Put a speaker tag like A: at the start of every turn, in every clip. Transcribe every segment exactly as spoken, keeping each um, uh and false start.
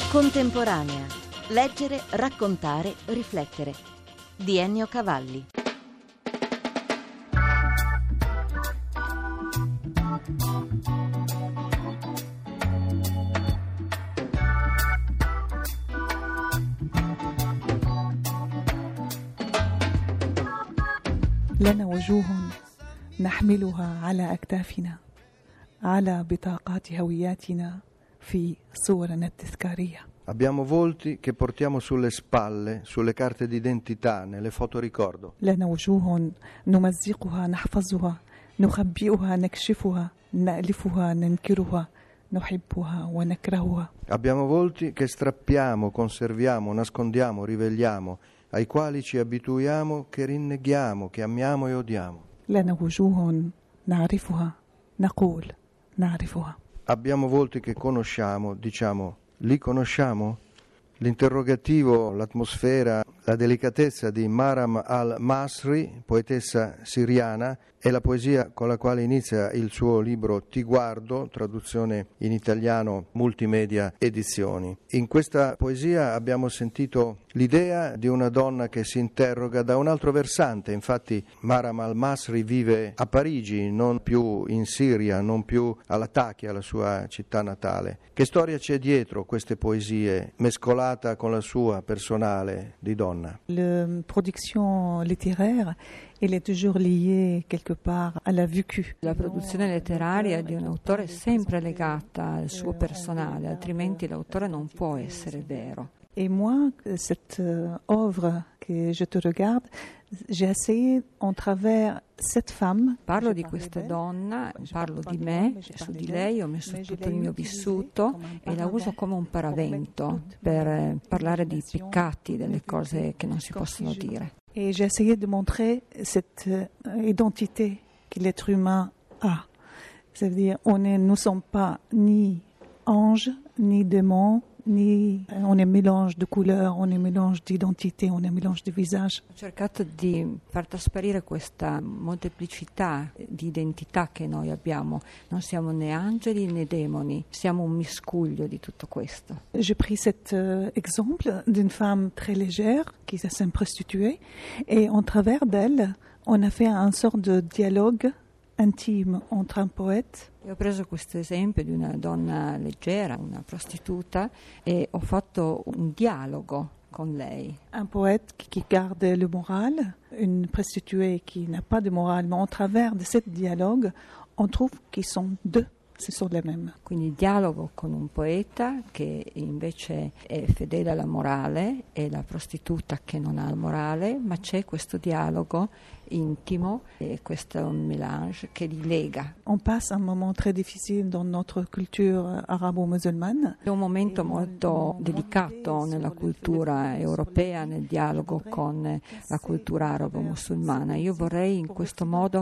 A: Contemporanea. Leggere, raccontare, riflettere. Di Ennio Cavalli.
B: لنا وجوه نحملها على أكتافنا على بطاقات هوياتنا في صورنا التذكارية.
C: Abbiamo volti che portiamo sulle spalle, sulle carte d'identità, nelle fotoricordo.
B: لنا وجوه نمزقها نحفظها نخبئها نكشفها نألفها ننكرها نحبها ونكرهها.
C: Abbiamo volti che strappiamo, conserviamo, nascondiamo, rivegliamo, ai quali ci abituiamo, che rinneghiamo, che amiamo e odiamo.
B: لنا وجوه نعرفها نقول نعرفها.
C: Abbiamo volti che conosciamo, diciamo, li conosciamo? L'interrogativo, l'atmosfera, la delicatezza di Maram al-Masri, poetessa siriana, è la poesia con la quale inizia il suo libro Ti guardo, traduzione in italiano Multimedia Edizioni. In questa poesia abbiamo sentito l'idea di una donna che si interroga da un altro versante. Infatti Maram al-Masri vive a Parigi, non più in Siria, non più a Latakia, la sua città natale. Che storia c'è dietro queste poesie, mescolata con la sua personale di donna?
B: La production littéraire elle est toujours liée quelque part à la vécu.
D: La produzione letteraria di un autore è sempre legata al suo personale, altrimenti l'autore non può essere vero.
B: Et moi, cette euh, œuvre que je te regarde, j'ai essayé en travers cette femme.
D: Parlo di questa donna, parlo di me, su di lei ho messo tutto il mio vissuto e la uso come un paravento per parlare di peccati, delle cose che non si possono dire.
B: Et j'ai essayé de montrer cette euh, identité que l'être humain a. C'est-à-dire, on est, nous ne sommes pas ni anges, ni démons, ni on est mélange de couleurs, on est mélange d'identité, on est mélange de visage.
D: Ho cercato di far trasparire questa molteplicità di identità che noi abbiamo. Non siamo né angeli né demoni, siamo un miscuglio di tutto questo.
B: J'ai pris cet euh, exemple d'une femme très légère qui s'est une prostituée et en travers d'elle, on a fait un sort de dialogue intime entre un poète.
D: Ho preso questo esempio di una donna leggera, una prostituta, e ho fatto un dialogo con lei.
B: Un poète qui garde le moral, une prostituée qui n'a pas de morale, mais au travers de ce dialogue, on trouve qu'ils sont deux. Ce sont les mêmes.
D: Quindi dialogo con un poeta che invece è fedele alla morale e la prostituta che non ha il morale, ma c'è questo dialogo intimo e questo mélange che li lega.
B: On passe un moment très difficile dans notre culture arabo-musulmane.
D: È un momento molto delicato nella cultura europea, nel dialogo con la cultura arabo-musulmana. Io vorrei in questo modo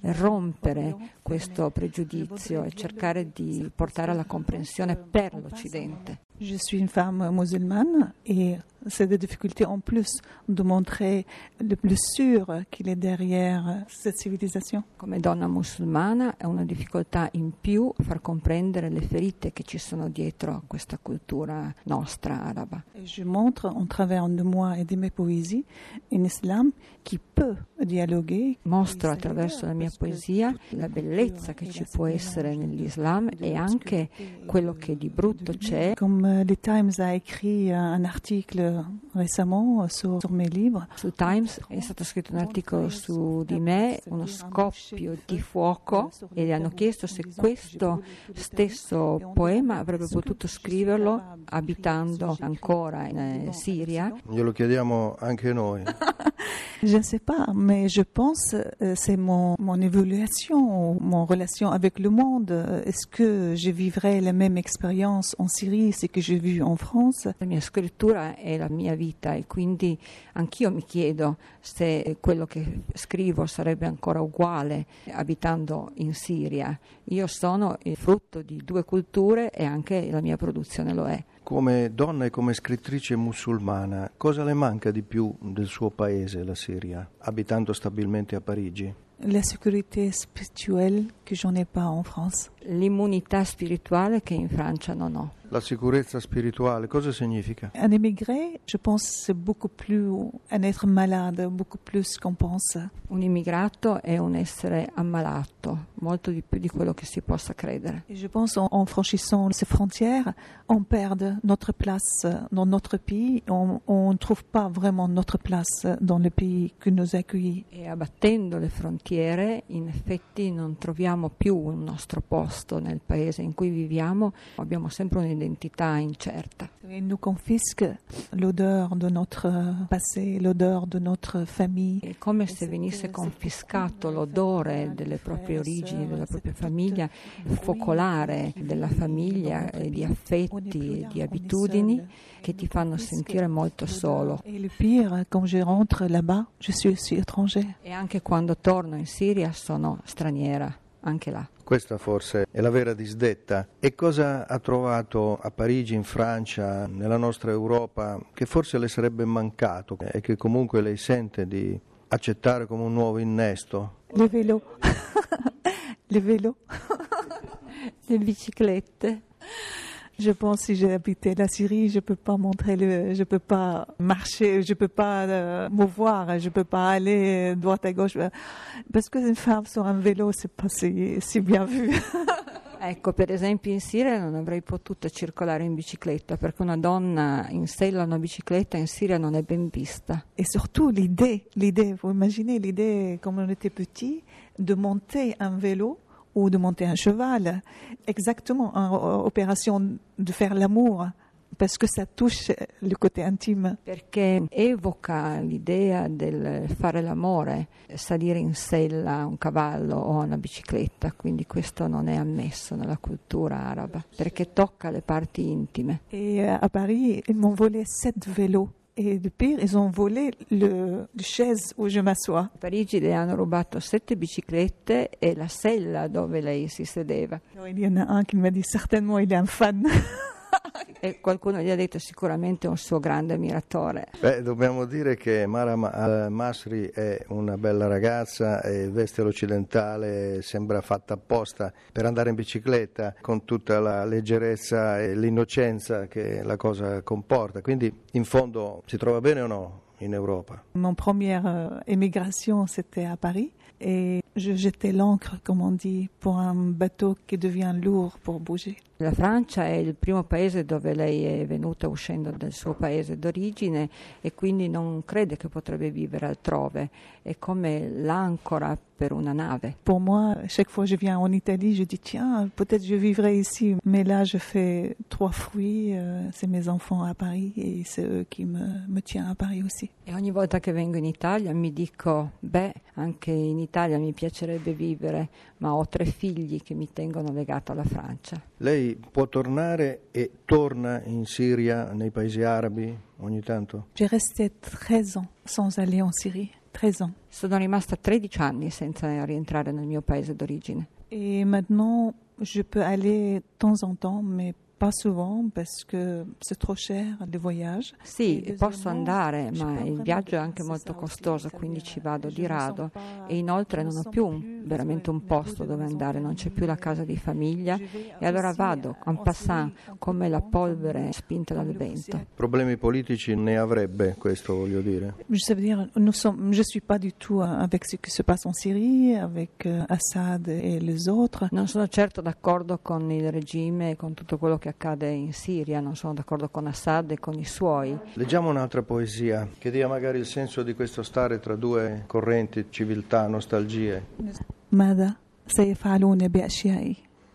D: rompere questo pregiudizio e cercare di portare alla comprensione per l'Occidente.
B: Je suis une femme musulmane et c'est des difficultés en plus de montrer le plus sûr qu'il est derrière cette civilisation.
D: Come donna musulmana è una difficoltà in più far comprendere le ferite che ci sono dietro a questa cultura nostra araba.
B: Et je montre en travers de moi et de mes poésies un islam qui peut dialoguer.
D: Mostro attraverso la mia poesia la bellezza che ci può essere nell'Islam e anche quello che di brutto c'è.
B: Comme le Times a écrit un article récemment sur, sur mes livres.
D: Su Times è stato scritto un articolo su di me, uno scoppio di fuoco, e gli hanno chiesto se questo stesso poema avrebbe potuto scriverlo abitando ancora in eh, Siria.
C: Glielo chiediamo anche noi.
B: Je ne sais pas, mais je pense euh, c'est mon, mon évolution, mon relation avec le monde. Est-ce que je vivrai la même expérience en Syrie, ce que j'ai vu en France?
D: La mia scrittura è la mia vita e quindi anch'io mi chiedo se quello che scrivo sarebbe ancora uguale abitando in Siria. Io sono il frutto di due culture e anche la mia produzione lo è.
C: Come donna e come scrittrice musulmana, cosa le manca di più del suo paese, la Siria, abitando stabilmente a Parigi?
B: La sécurité spirituelle que j'en ai pas en France.
D: l'immunità spirituale che in Francia non ho.
C: La sicurezza spirituale, cosa significa?
B: Un émigré, je pense, c'est beaucoup plus un être malade, beaucoup plus qu'on pense.
D: Un immigrato è un essere ammalato, molto di più di quello che si possa credere.
B: Et je pense en, en franchissant ces frontières, on perd notre place dans notre pays, on ne trouve pas vraiment notre place dans le pays qui nous accueille.
D: E abbattendo le frontiere, in effetti non troviamo più un nostro posto nel paese in cui viviamo, abbiamo sempre un'identità incerta.
B: Il nous confisque l'odeur de notre passé, l'odeur de notre famille.
D: È come se venisse confiscato l'odore delle proprie origini, della propria famiglia, il focolare della famiglia, e di affetti e di abitudini che ti fanno sentire molto solo.
B: E il pire, quand je rentre là-bas, je suis aussi étranger.
D: E anche quando torno in Siria sono straniera, anche là.
C: Questa forse è la vera disdetta. E cosa ha trovato a Parigi, in Francia, nella nostra Europa, che forse le sarebbe mancato e che comunque lei sente di accettare come un nuovo innesto?
B: Le vélo. Le vélo.
D: Le biciclette.
B: Je pense si j'ai habité la Syrie, je peux pas montrer le, je peux pas marcher, je peux pas euh, mouvoir, je peux pas aller droite à gauche, parce que une femme sur un vélo c'est pas si, si bien vu.
D: Ecco, per esempio in Siria non avrei potuto circolare in bicicletta perché una donna in sella a una bicicletta in Siria non è ben vista.
B: Et surtout l'idée, l'idée, vous imaginez l'idée quand on était petit de monter un vélo ou de monter un cheval, exactement en opération de faire l'amour, parce que ça touche le côté intime.
D: Perché evoca l'idea del fare l'amore, salire in sella a un cavallo o a una bicicletta, quindi questo non è ammesso nella cultura araba, perché tocca le parti intime.
B: Et à Paris, ils m'ont volé sept vélos. Et le pire, ils ont volé le, le chaise où je m'assois.
D: A Parigi le hanno rubato sette biciclette e la sella dove lei si sedeva.
B: Alors, il y en a un qui m'a dit certainement il est un fan.
D: E qualcuno gli ha detto sicuramente un suo grande ammiratore.
C: Beh, dobbiamo dire che Maram al-Masri è una bella ragazza e veste l'occidentale, sembra fatta apposta per andare in bicicletta con tutta la leggerezza e l'innocenza che la cosa comporta, quindi in fondo si trova bene o no in Europa?
B: Mon première euh, émigration c'était à Paris et je jetais l'ancre comme on dit pour un bateau qui devient lourd pour bouger.
D: La Francia è il primo paese dove lei è venuta uscendo dal suo paese d'origine e quindi non crede che potrebbe vivere altrove. È come l'ancora per una nave.
B: Pour moi, chaque fois que je viens en Italie, je dis tiens, peut-être je vivrai ici. Mais là, je fais trois fruits. Euh, c'est mes enfants à Paris et c'est eux qui me, me tiennent à Paris aussi.
D: E ogni volta che vengo in Italia mi dico, beh, anche in Italia mi piacerebbe vivere, ma ho tre figli che mi tengono legato alla Francia.
C: Lei può tornare e torna in Siria, nei paesi arabi, ogni tanto?
B: J'ai resté treize ans sans aller en Syrie. treize ans.
D: Sono rimasta tredici anni senza rientrare nel mio paese d'origine.
B: Et maintenant, je peux aller de temps en temps, mais pas souvent parce que c'est trop cher le voyage.
D: Sì, posso andare, ma il viaggio è anche molto costoso, quindi ci vado di rado e inoltre non ho più un, veramente un posto dove andare, non c'è più la casa di famiglia e allora vado en passant come la polvere spinta dal vento.
C: Problemi politici ne avrebbe, questo voglio dire.
B: Ça veut dire, nous sommes, je suis pas du tout avec ce qui se passe en Syrie, avec Assad et les autres.
D: Non sono certo d'accordo con il regime e con tutto quello che accade in Siria, non sono d'accordo con Assad e con i suoi.
C: Leggiamo un'altra poesia che dia magari il senso di questo stare tra due correnti, civiltà, nostalgie.
B: ماذا سيفعلون بأشيائي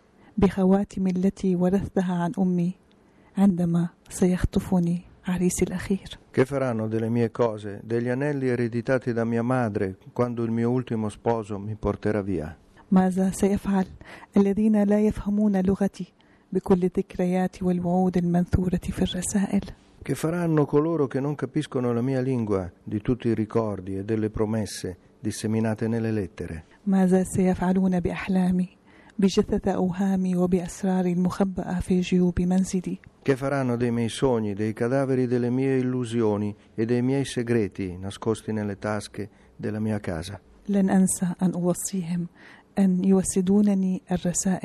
B: بخواتم التي ورثتها عن أمي عندما سيخطفني عريسي الأخير.
C: Che faranno delle mie cose, degli anelli ereditati da mia madre, quando il mio ultimo sposo mi porterà via?
B: ماذا سيفعل الذين لا يفهمون لغتي بكل الذكريات والوعود المنثورة في الرسائل.
C: Che faranno coloro che non capiscono la mia lingua di tutti i ricordi e delle promesse disseminate nelle lettere?
B: ماذا سيفعلون بأحلامي بجثث أوهامي وبأسرار المخبأة في جيوب منزلي؟
C: Che faranno dei miei sogni, dei cadaveri delle mie illusioni e dei miei segreti nascosti nelle tasche della mia casa?
B: لن أنسى أن أوصيهم أن يوسدونني الرسائل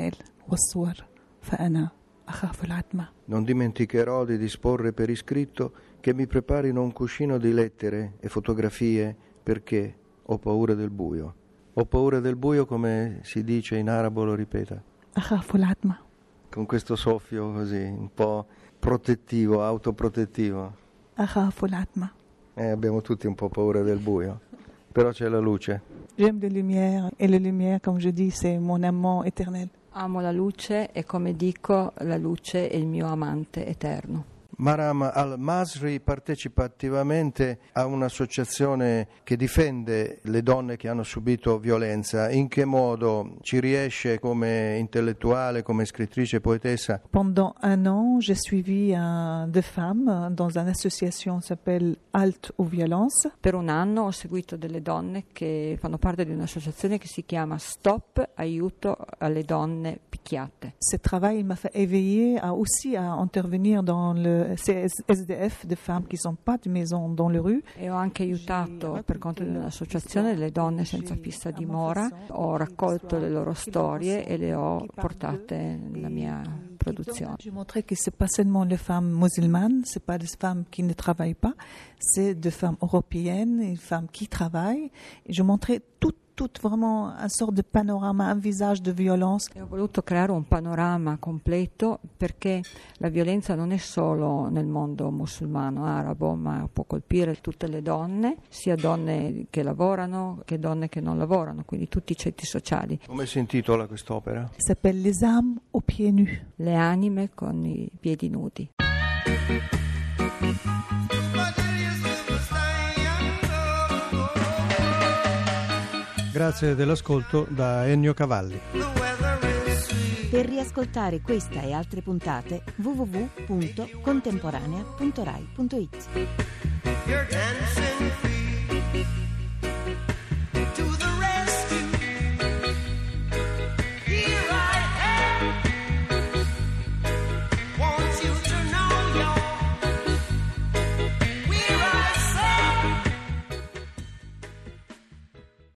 B: والصور فأنا أخاف العتمة.
C: Non dimenticherò di disporre per iscritto che mi preparino un cuscino di lettere e fotografie perché ho paura del buio. Ho paura del buio, come si dice in arabo, lo ripeta.
B: أخاف العتمة.
C: Con questo soffio così, un po' protettivo, autoprotettivo.
B: أخاف العتمة.
C: Eh, abbiamo tutti un po' paura del buio, però c'è la luce.
B: J'aime les lumières et les lumières, comme je dis, c'est mon amant éternel.
D: Amo la luce e, come dico, la luce è il mio amante eterno.
C: Maram al-Masri partecipa attivamente a un'associazione che difende le donne che hanno subito violenza. In che modo ci riesce come intellettuale, come scrittrice e poetessa?
B: Pendant un an, j'ai suivi un, deux femmes dans une association qui s'appelle Halte aux violences.
D: Per un anno ho seguito delle donne che fanno parte di un'associazione che si chiama Stop Aiuto alle donne picchiate.
B: Ce travail m'a fait éveiller à aussi à intervenir dans le C S D F de femmes qui sont pas de maison dans le rue.
D: E ho anche aiutato per conto di un'associazione le donne senza fissa dimora. Ho raccolto le loro storie e le ho portate nella mia produzione.
B: Je montrais que c'est pas seulement les femmes musulmanes, c'est pas des femmes qui ne travaillent pas, c'est des femmes européennes, des femmes qui travaillent. Et je montrais tout Tout vraiment un sorte de panorama, un visage de violence.
D: E ho voluto creare un panorama completo perché la violenza non è solo nel mondo musulmano, arabo, ma può colpire tutte le donne, sia donne che lavorano che donne che non lavorano, quindi tutti i ceti sociali.
C: Come si intitola quest'opera?
B: S'appelle Les âmes aux pieds nus.
D: Le anime con i piedi nudi.
C: Grazie dell'ascolto da Ennio Cavalli.
A: Per riascoltare questa e altre puntate w w w punto contemporanea punto rai punto it.